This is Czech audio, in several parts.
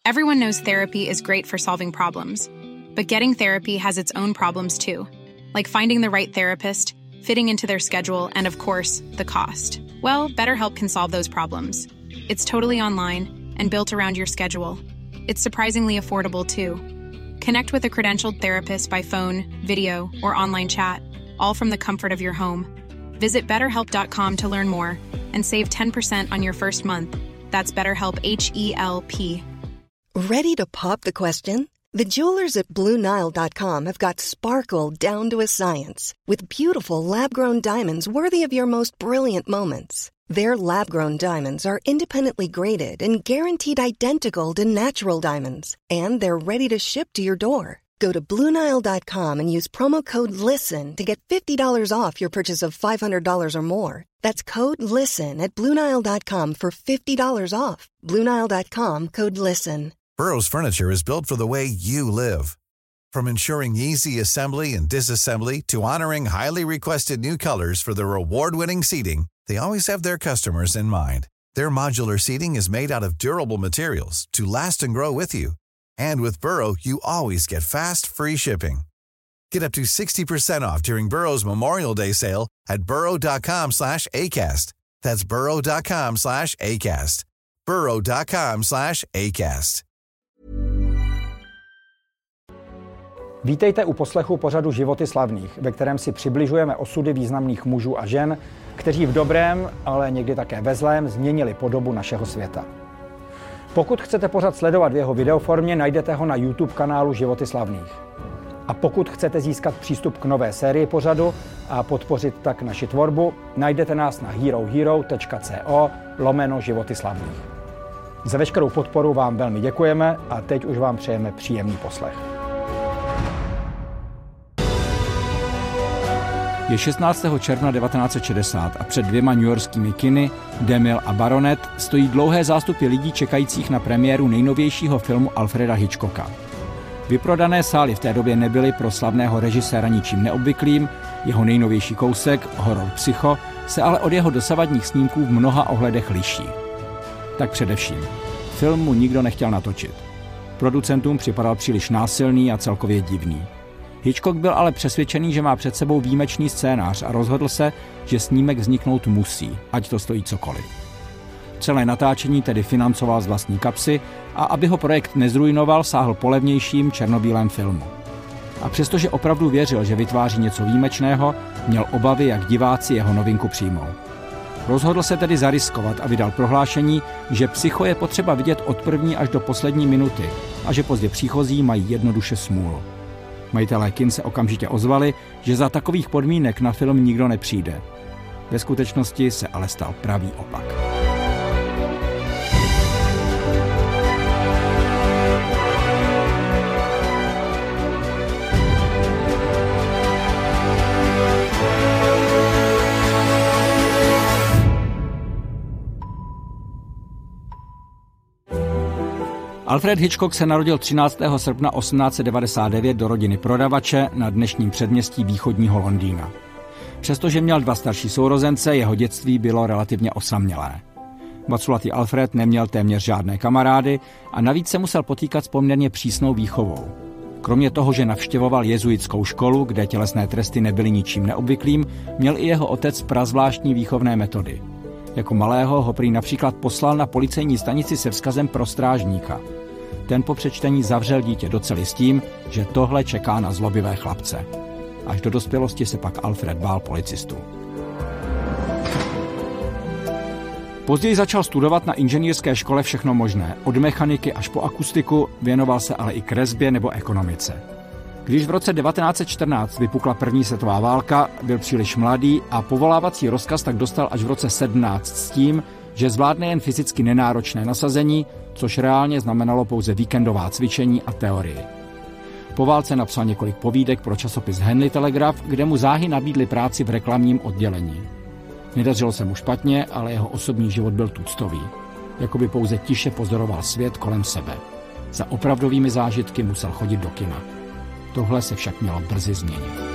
Everyone knows therapy is great for solving problems, but getting therapy has its own problems too, like finding the right therapist, fitting into their schedule, and of course, the cost. Well, BetterHelp can solve those problems. It's totally online and built around your schedule. It's surprisingly affordable too. Connect with a credentialed therapist by phone, video, or online chat, all from the comfort of your home. Visit BetterHelp.com to learn more and save 10% on your first month. That's BetterHelp, H-E-L-P. Ready to pop the question? The jewelers at BlueNile.com have got sparkle down to a science with beautiful lab-grown diamonds worthy of your most brilliant moments. Their lab-grown diamonds are independently graded and guaranteed identical to natural diamonds, and they're ready to ship to your door. Go to BlueNile.com and use promo code LISTEN to get $50 off your purchase of $500 or more. That's code LISTEN at BlueNile.com for $50 off. BlueNile.com, code LISTEN. Burrow's furniture is built for the way you live. From ensuring easy assembly and disassembly to honoring highly requested new colors for their award-winning seating, they always have their customers in mind. Their modular seating is made out of durable materials to last and grow with you. And with Burrow, you always get fast, free shipping. Get up to 60% off during Burrow's Memorial Day sale at burrow.com/ACAST. That's burrow.com/ACAST. burrow.com/ACAST. Vítejte u poslechu pořadu Životy slavných, ve kterém si přibližujeme osudy významných mužů a žen, kteří v dobrém, ale někdy také ve zlém změnili podobu našeho světa. Pokud chcete pořad sledovat v jeho videoformě, najdete ho na YouTube kanálu Životy slavných. A pokud chcete získat přístup k nové sérii pořadu a podpořit tak naši tvorbu, najdete nás na herohero.co/Životy slavných. Za veškerou podporu vám velmi děkujeme a teď už vám přejeme příjemný poslech. Je 16. června 1960 a před dvěma newyorskými kiny, DeMille a Baronet, stojí dlouhé zástupy lidí čekajících na premiéru nejnovějšího filmu Alfreda Hitchcocka. Vyprodané sály v té době nebyly pro slavného režiséra ničím neobvyklým, jeho nejnovější kousek, horor Psycho, se ale od jeho dosavadních snímků v mnoha ohledech liší. Tak především, film mu nikdo nechtěl natočit. Producentům připadal příliš násilný a celkově divný. Hitchcock byl ale přesvědčený, že má před sebou výjimečný scénář a rozhodl se, že snímek vzniknout musí, ať to stojí cokoliv. Celé natáčení tedy financoval z vlastní kapsy a aby ho projekt nezrujnoval, sáhl po levnějším černobílém filmu. A přestože opravdu věřil, že vytváří něco výjimečného, měl obavy, jak diváci jeho novinku přijmou. Rozhodl se tedy zariskovat a vydal prohlášení, že Psycho je potřeba vidět od první až do poslední minuty a že pozdě příchozí mají jednoduše smůlu. Majitelé kin se okamžitě ozvali, že za takových podmínek na film nikdo nepřijde. Ve skutečnosti se ale stal pravý opak. Alfred Hitchcock se narodil 13. srpna 1899 do rodiny prodavače na dnešním předměstí východního Londýna. Přestože měl dva starší sourozence, jeho dětství bylo relativně osamělé. Vaculatý Alfred neměl téměř žádné kamarády a navíc se musel potýkat s poměrně přísnou výchovou. Kromě toho, že navštěvoval jezuitskou školu, kde tělesné tresty nebyly ničím neobvyklým, měl i jeho otec prazvláštní výchovné metody. Jako malého ho prý například poslal na policejní stanici se vzkazem pro strážníka. Ten po přečtení zavřel dítě do cely s tím, že tohle čeká na zlobivé chlapce. Až do dospělosti se pak Alfred bál policistů. Později začal studovat na inženýrské škole všechno možné, od mechaniky až po akustiku, věnoval se ale i kresbě nebo ekonomice. Když v roce 1914 vypukla první světová válka, byl příliš mladý a povolávací rozkaz tak dostal až v roce 17 s tím, že zvládne jen fyzicky nenáročné nasazení, což reálně znamenalo pouze víkendová cvičení a teorii. Po válce napsal několik povídek pro časopis Henley Telegraph, kde mu záhy nabídli práci v reklamním oddělení. Nedařilo se mu špatně, ale jeho osobní život byl tuctový. Jakoby pouze tiše pozoroval svět kolem sebe. Za opravdovými zážitky musel chodit do kina. Tohle se však mělo brzy změnit.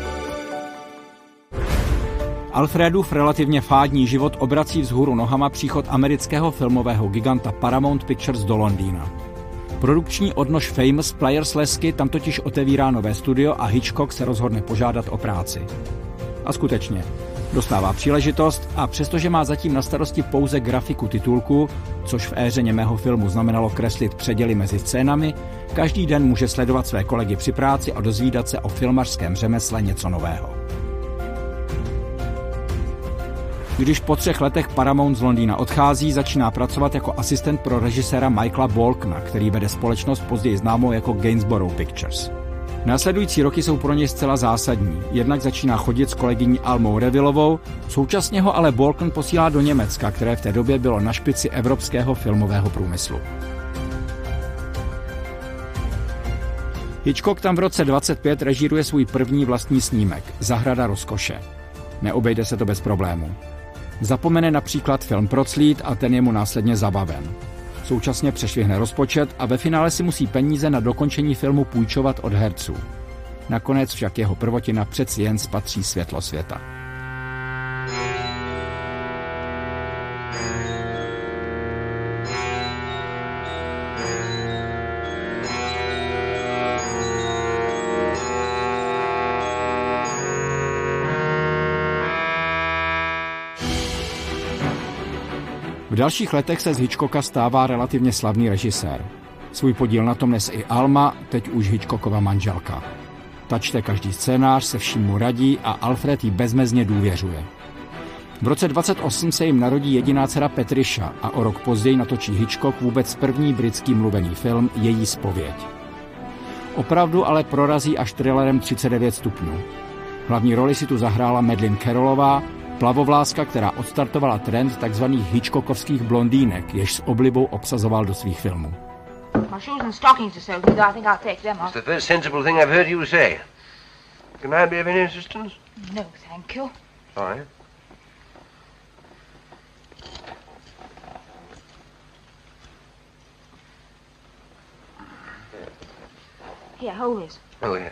Alfredův relativně fádní život obrací vzhůru nohama příchod amerického filmového giganta Paramount Pictures do Londýna. Produkční odnož Famous Players Lesky tam totiž otevírá nové studio a Hitchcock se rozhodne požádat o práci. A skutečně, dostává příležitost a přestože má zatím na starosti pouze grafiku titulku, což v éře němého filmu znamenalo kreslit předěly mezi scénami, každý den může sledovat své kolegy při práci a dozvídat se o filmařském řemesle něco nového. Když po 3 letech Paramount z Londýna odchází, začíná pracovat jako asistent pro režiséra Michaela Balkna, který vede společnost později známou jako Gainsborough Pictures. Následující roky jsou pro něj zcela zásadní. Jednak začíná chodit s kolegyní Almou Revillovou, současně ho ale Balkn posílá do Německa, které v té době bylo na špici evropského filmového průmyslu. Hitchcock tam v roce 25 režíruje svůj první vlastní snímek, Zahrada rozkoše. Neobejde se to bez problémů. Zapomene například film Proclít a ten je mu následně zabaven. Současně přešvihne rozpočet a ve finále si musí peníze na dokončení filmu půjčovat od herců. Nakonec však jeho prvotina přeci jen spatří světlo světa. V dalších letech se z Hitchcocka stává relativně slavný režisér. Svůj podíl na tom nese i Alma, teď už Hitchcockova manželka. Ta čte každý scénář, se vším mu radí a Alfred jí bezmezně důvěřuje. V roce 28 se jim narodí jediná dcera Patricia a o rok později natočí Hitchcock vůbec první britský mluvený film Její zpověď. Opravdu ale prorazí až thrillerem 39 stupňů. Hlavní roli si tu zahrála Madeleine Carrollová, plavovlázka, která odstartovala trend tzv. Hitchcockovských blondýnek, jež s oblibou obsazoval do svých filmů. My shoes and stockings are so good, I think I'll take them off. It's the first sensible thing I've heard you say. Can I be of any assistance? No, thank you. Sorry. Here, hold this. Oh, yes.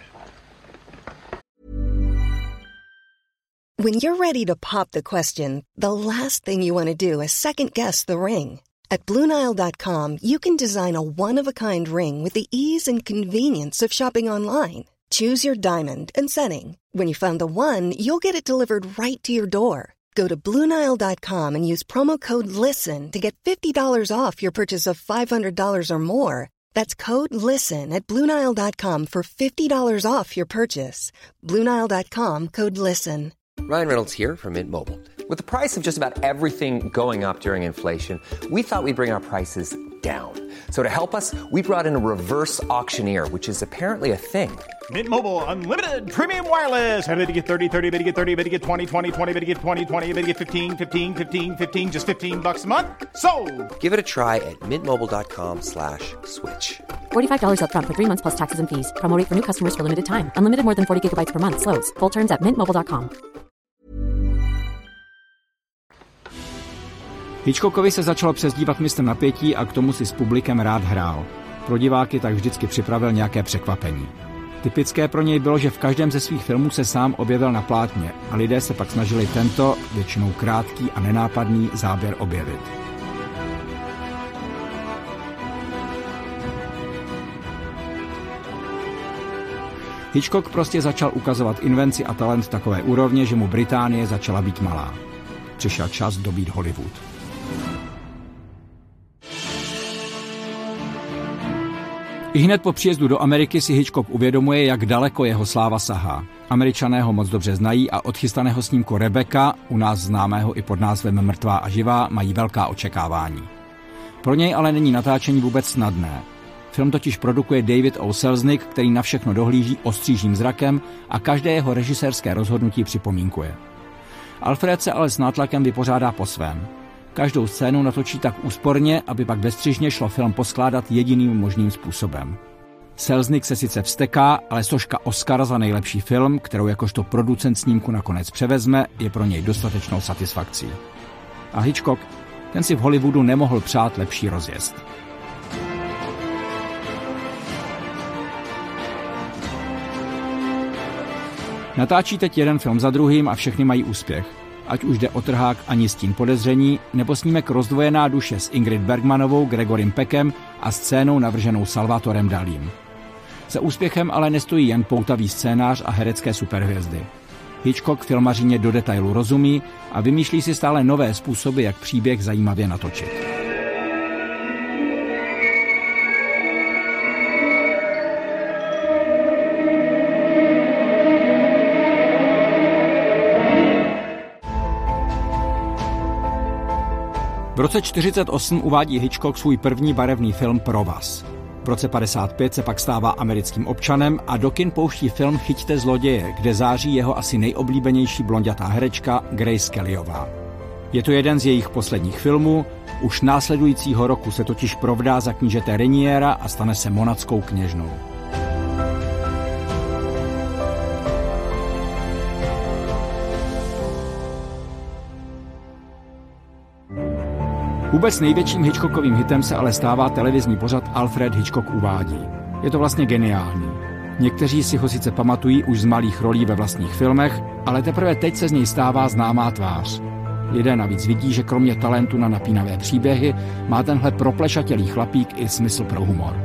When you're ready to pop the question, the last thing you want to do is second-guess the ring. At BlueNile.com, you can design a one-of-a-kind ring with the ease and convenience of shopping online. Choose your diamond and setting. When you find the one, you'll get it delivered right to your door. Go to BlueNile.com and use promo code LISTEN to get $50 off your purchase of $500 or more. That's code LISTEN at BlueNile.com for $50 off your purchase. BlueNile.com, code LISTEN. Ryan Reynolds here from Mint Mobile. With the price of just about everything going up during inflation, we thought we'd bring our prices down. So to help us, we brought in a reverse auctioneer, which is apparently a thing. Mint Mobile Unlimited Premium Wireless. How to get 30, 30, how to get 30, how to get 20, 20, 20, how to get 20, 20, how to get 15, 15, 15, 15, just $15 a month? Sold! Give it a try at mintmobile.com/switch. $45 up front for 3 months plus taxes and fees. Promo rate for new customers for limited time. Unlimited more than 40 gigabytes per month. Slows full terms at mintmobile.com. Hitchcockovi se začalo přezdívat mistr napětí a k tomu si s publikem rád hrál. Pro diváky tak vždycky připravil nějaké překvapení. Typické pro něj bylo, že v každém ze svých filmů se sám objevil na plátně a lidé se pak snažili tento, většinou krátký a nenápadný záběr objevit. Hitchcock prostě začal ukazovat invenci a talent takové úrovně, že mu Británie začala být malá. Přišel čas dobít Hollywood. Ihned po příjezdu do Ameriky si Hitchcock uvědomuje, jak daleko jeho sláva sahá. Američané ho moc dobře znají a od chystaného snímku Rebecca, u nás známého i pod názvem Mrtvá a živá, mají velká očekávání. Pro něj ale není natáčení vůbec snadné. Film totiž produkuje David O. Selznick, který na všechno dohlíží ostřížím zrakem a každé jeho režisérské rozhodnutí připomínkuje. Alfred se ale s nátlakem vypořádá po svém. Každou scénu natočí tak úsporně, aby pak bezstřižně šlo film poskládat jediným možným způsobem. Selznick se sice vzteká, ale soška Oscara za nejlepší film, kterou jakožto producent snímku nakonec převezme, je pro něj dostatečnou satisfakcí. A Hitchcock, ten si v Hollywoodu nemohl přát lepší rozjezd. Natáčí teď jeden film za druhým a všechny mají úspěch. Ať už jde o Trhák Ani stín podezření, nebo snímek Rozdvojená duše s Ingrid Bergmanovou, Gregorem Peckem a scénou navrženou Salvatorem Dalim. Za úspěchem ale nestojí jen poutavý scénář a herecké superhvězdy. Hitchcock filmařině do detailu rozumí a vymýšlí si stále nové způsoby, jak příběh zajímavě natočit. V roce 1948 uvádí Hitchcock svůj první barevný film Provaz. V roce 1955 se pak stává americkým občanem a do kin pouští film Chyťte zloděje, kde září jeho asi nejoblíbenější blonďatá herečka Grace Kellyová. Je to jeden z jejich posledních filmů, už následujícího roku se totiž provdá za knížete Reniera a stane se monatskou kněžnou. Vůbec největším Hitchcockovým hitem se ale stává televizní pořad Alfred Hitchcock uvádí. Je to vlastně geniální. Někteří si ho sice pamatují už z malých rolí ve vlastních filmech, ale teprve teď se z něj stává známá tvář. Lidé navíc vidí, že kromě talentu na napínavé příběhy má tenhle proplešatělý chlapík i smysl pro humor.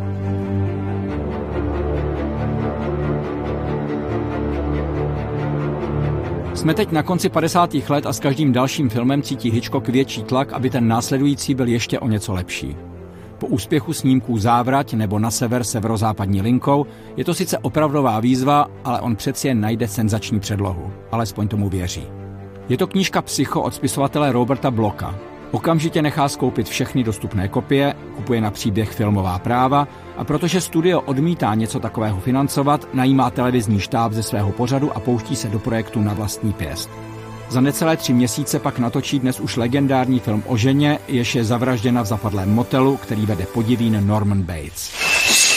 Jsme teď na konci 50. let a s každým dalším filmem cítí Hitchcock větší tlak, aby ten následující byl ještě o něco lepší. Po úspěchu snímků Závrať nebo Na sever severozápadní linkou je to sice opravdová výzva, ale on přeci jen najde senzační předlohu. Alespoň tomu věří. Je to knížka Psycho od spisovatele Roberta Blocka. Okamžitě nechá skoupit všechny dostupné kopie, kupuje na příběh filmová práva a protože studio odmítá něco takového financovat, najímá televizní štáb ze svého pořadu a pouští se do projektu na vlastní pěst. Za necelé 3 měsíce pak natočí dnes už legendární film o ženě, jež je zavražděna v zapadlém motelu, který vede podivín Norman Bates.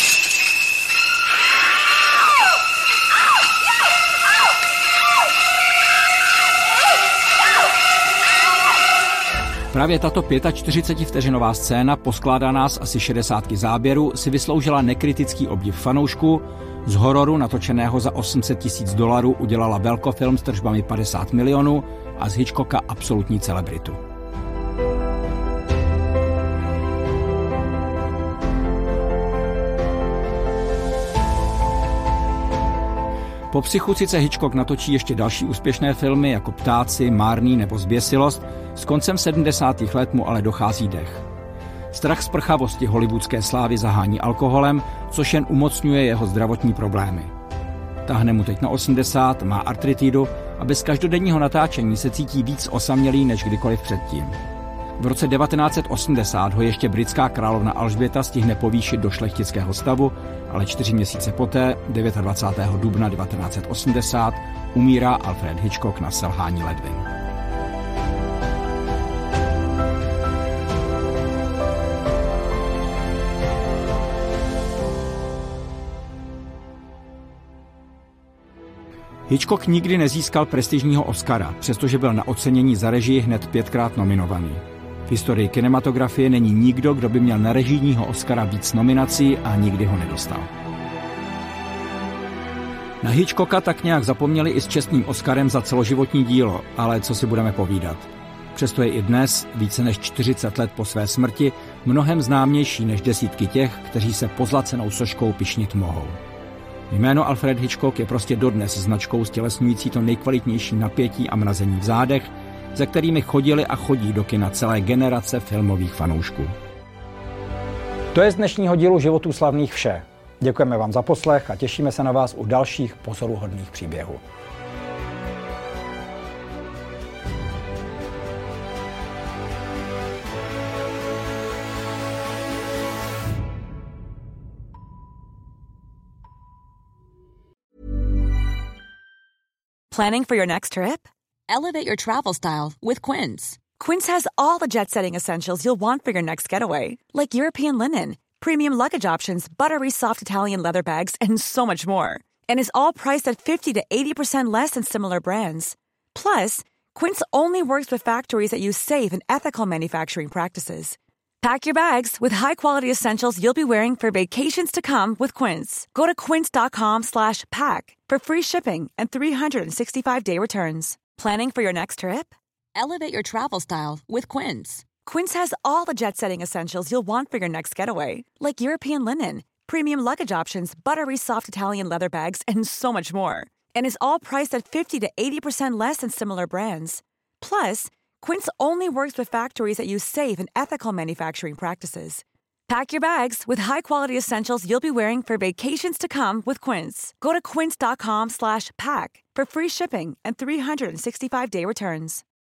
Právě tato 45vteřinová scéna, poskládaná z asi 60 záběrů, si vysloužila nekritický obdiv fanoušků. Z hororu natočeného za $800 000 udělala velkofilm s tržbami 50 milionů a z Hitchcocka absolutní celebritu. Po Psychu sice Hitchcock natočí ještě další úspěšné filmy jako Ptáci, Márný nebo Zběsilost, s koncem 70. let mu ale dochází dech. Strach z prchavosti hollywoodské slávy zahání alkoholem, což jen umocňuje jeho zdravotní problémy. Táhne mu teď na 80, má artritidu a bez každodenního natáčení se cítí víc osamělý než kdykoliv předtím. V roce 1980 ho ještě britská královna Alžběta stihne povýšit do šlechtického stavu, ale 4 měsíce poté, 29. dubna 1980, umírá Alfred Hitchcock na selhání ledvin. Hitchcock nikdy nezískal prestižního Oscara, přestože byl na ocenění za režii hned 5krát nominovaný. V historii kinematografie není nikdo, kdo by měl na režijního Oscara víc nominací a nikdy ho nedostal. Na Hitchcocka tak nějak zapomněli i s čestným Oscarem za celoživotní dílo, ale co si budeme povídat. Přesto je i dnes, více než 40 let po své smrti, mnohem známější než desítky těch, kteří se pozlacenou soškou pyšnit mohou. Jméno Alfred Hitchcock je prostě dodnes značkou stělesňující to nejkvalitnější napětí a mrazení v zádech, za kterými chodili a chodí do kina celé generace filmových fanoušků. To je z dnešního dílu Životů slavných vše. Děkujeme vám za poslech a těšíme se na vás u dalších pozoruhodných příběhů. Planning for your next trip? Elevate your travel style with Quince. Quince has all the jet-setting essentials you'll want for your next getaway, like European linen, premium luggage options, buttery soft Italian leather bags, and so much more. And is all priced at 50 to 80% less than similar brands. Plus, Quince only works with factories that use safe and ethical manufacturing practices. Pack your bags with high-quality essentials you'll be wearing for vacations to come with Quince. Go to quince.com/pack for free shipping and 365-day returns. Planning for your next trip? Elevate your travel style with Quince. Quince has all the jet-setting essentials you'll want for your next getaway, like European linen, premium luggage options, buttery soft Italian leather bags, and so much more. And is all priced at 50 to 80% less than similar brands. Plus, Quince only works with factories that use safe and ethical manufacturing practices. Pack your bags with high-quality essentials you'll be wearing for vacations to come with Quince. Go to quince.com/pack for free shipping and 365-day returns.